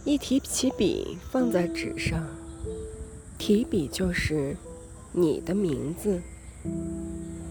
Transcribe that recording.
一提起笔放在纸上，提笔就是你的名字。